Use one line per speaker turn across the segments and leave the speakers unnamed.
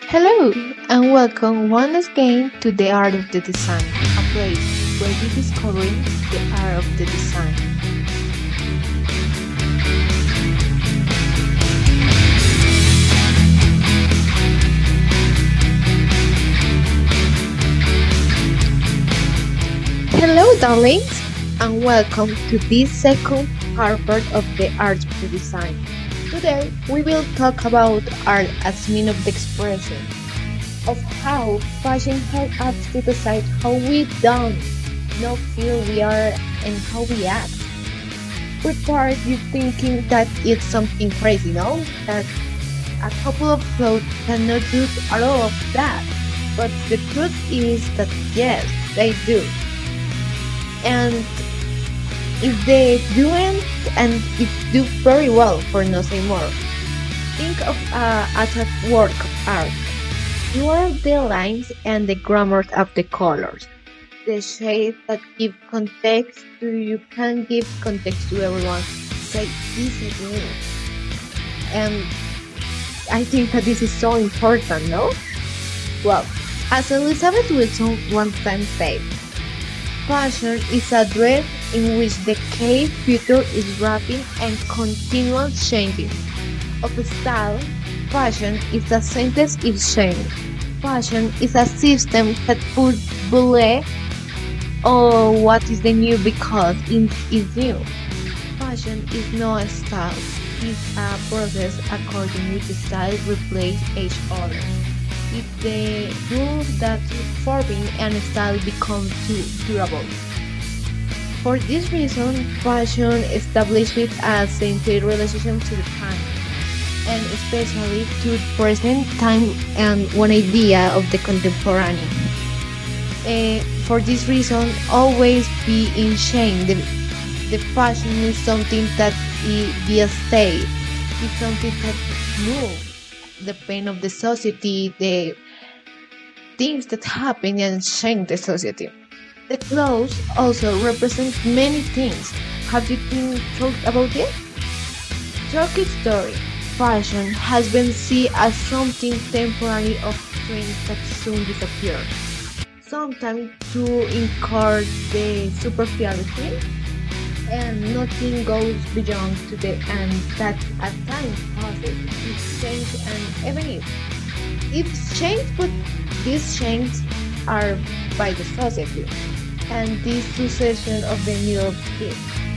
Hello, and welcome once again to The Art of the Design, a place where we discover the art of the design. Hello, darlings, and welcome to this second part of The Art of the Design. Today, we will talk about art as means of the expression of how fashion helps us to decide how we don't not feel we are and how we act. Prepare you thinking that it's something crazy, no? That a couple of clothes cannot do all of that. But the truth is that yes, they do. And if they doing and it do very well for no say more. Think of as a work of art. You are the lines and the grammar of the colors. The shades that give context to you can give context to everyone. Say this is me. And I think that this is so important, no? Well, as Elizabeth Wilson one time said, fashion is a dress in which the key future is rapid and continuous changing. Of style, fashion is a sentence exchange. Fashion is a system that puts believe or what is the new because it is new. Fashion is not a style, it's a process according which style replace each other. It's the rule that forming and style become too durable. For this reason, fashion establishes a centered relationship to the time, and especially to present time and one idea of the contemporary. For this reason, always be in shame. The fashion is something that be a state. It's something that moves the pain of the society, the things that happen and change the society. The clothes also represent many things. Have you been talked about it? Turkey story. Fashion has been seen as something temporary of trends that soon disappear. Sometimes to encourage the superficiality and nothing goes beyond to the end that as time passes it changes and even if changed but these changes are by the society and this succession of the new of it.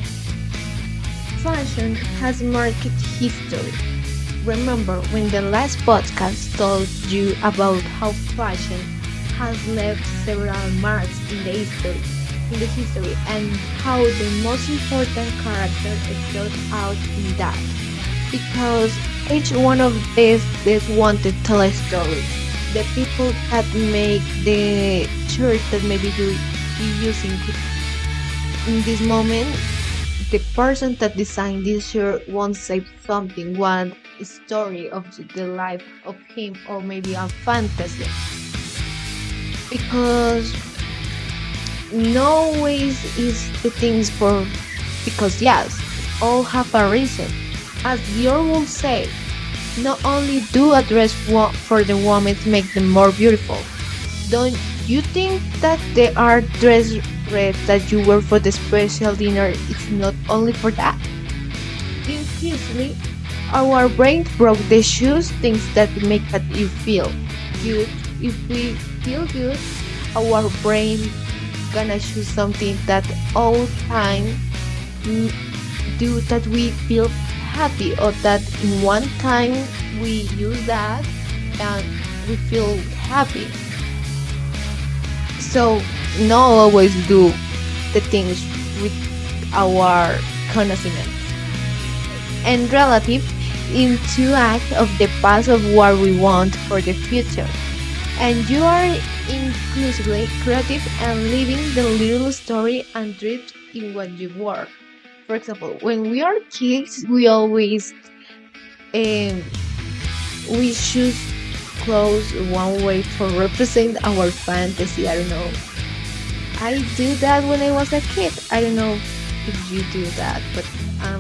Fashion has marked history. Remember when the last podcast told you about how fashion has left several marks in the history and how the most important character stood out in that. Because each one of these wanted to tell a story. The people that make the shirt that maybe you be using in this moment, the person that designed this shirt won't say something, one story of the life of him or maybe a fantasy. Because no ways is the things for because yes, all have a reason. As Dior will say, not only do a dress for the woman to make them more beautiful. Don't you think that the art dress red that you wear for the special dinner is not only for that? Increasingly, our brain broke the shoes things that make that you feel good. If we feel good, our brain gonna choose something that all time do that we feel happy or that in one time we use that and we feel happy. So not always do the things with our conociment and relative into act of the past of what we want for the future. And you are inclusively creative and living the little story and drift in what you work. For example, when we are kids, we always um, we choose clothes one way for represent our fantasy. I don't know. I do that when I was a kid. I don't know if you do that, but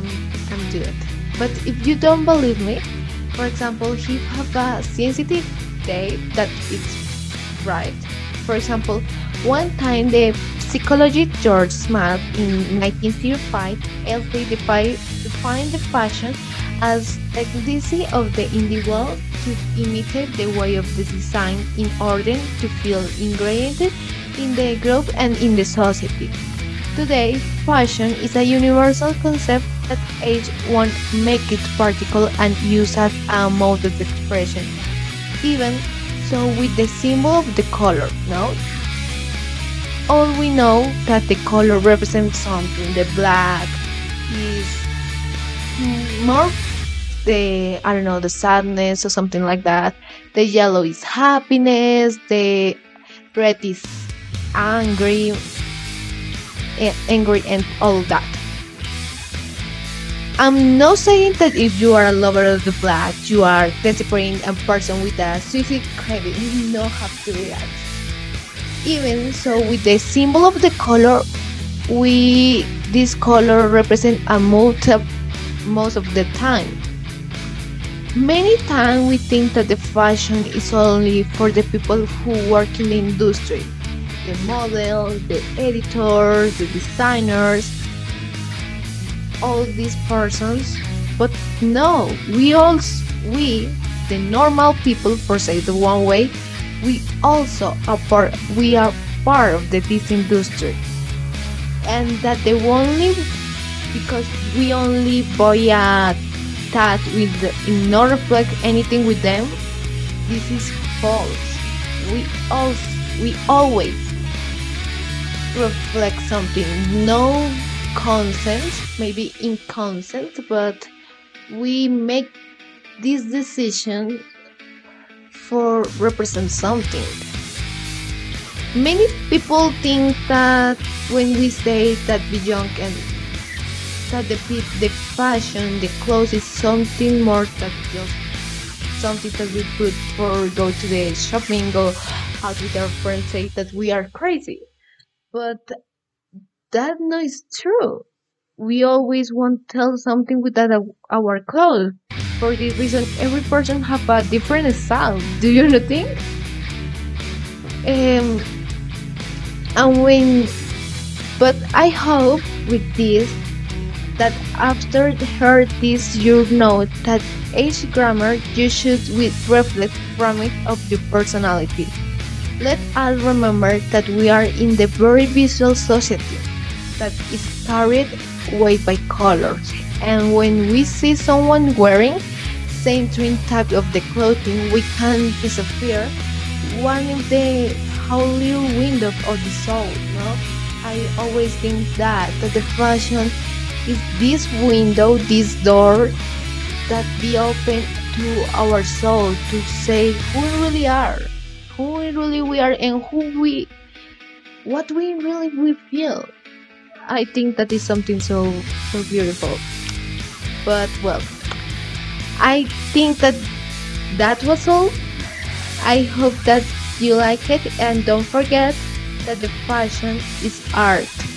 I'm doing it. But if you don't believe me, for example, if you have a sensitive day that it's right. For example, one time the psychologist George Smith in 1905 LC defined the fashion as the tendency of the individual to imitate the way of the design in order to feel ingrained in the group and in the society. Today, fashion is a universal concept that age won't make it particle and used as a mode of expression. Even so, with the symbol of the color, no? All we know that the color represents something. The black is more the, I don't know, the sadness or something like that. The yellow is happiness. The red is angry, angry and all that. I'm not saying that if you are a lover of the black, you are desperate a person with a suicide craving. You don't have to react. Even so, with the symbol of the color, we this color represent a mood most of the time. Many times we think that the fashion is only for the people who work in the industry, the models, the editors, the designers, all these persons. But no, we, the normal people, for say the one way, we also we are part of this industry, and that the only because we only buy a tag with not reflect anything with them. This is false. We always reflect something. No consent, maybe in consent, but we make this decision for represent something. Many people think that when we say that be young and that the fashion, the clothes is something more than just something that we put for go to the shopping, go out with our friends, say that we are crazy. But that no is true. We always want to tell something with that our clothes. For this reason, every person have a different style. Do you not think? Um, and when, but I hope with this that after heard this, you know that age grammar you should with reflect from it of your personality. Let us remember that we are in the very visual society that is carried away by colors. And when we see someone wearing same twin type of the clothing, we can disappear one of the whole little window of the soul. No, I always think that the fashion is this window, this door that be open to our soul to say who we really are, who we really we are, and what we really we feel. I think that is something so beautiful. But well, I think that that was all. I hope that you like it, and don't forget that the fashion is art.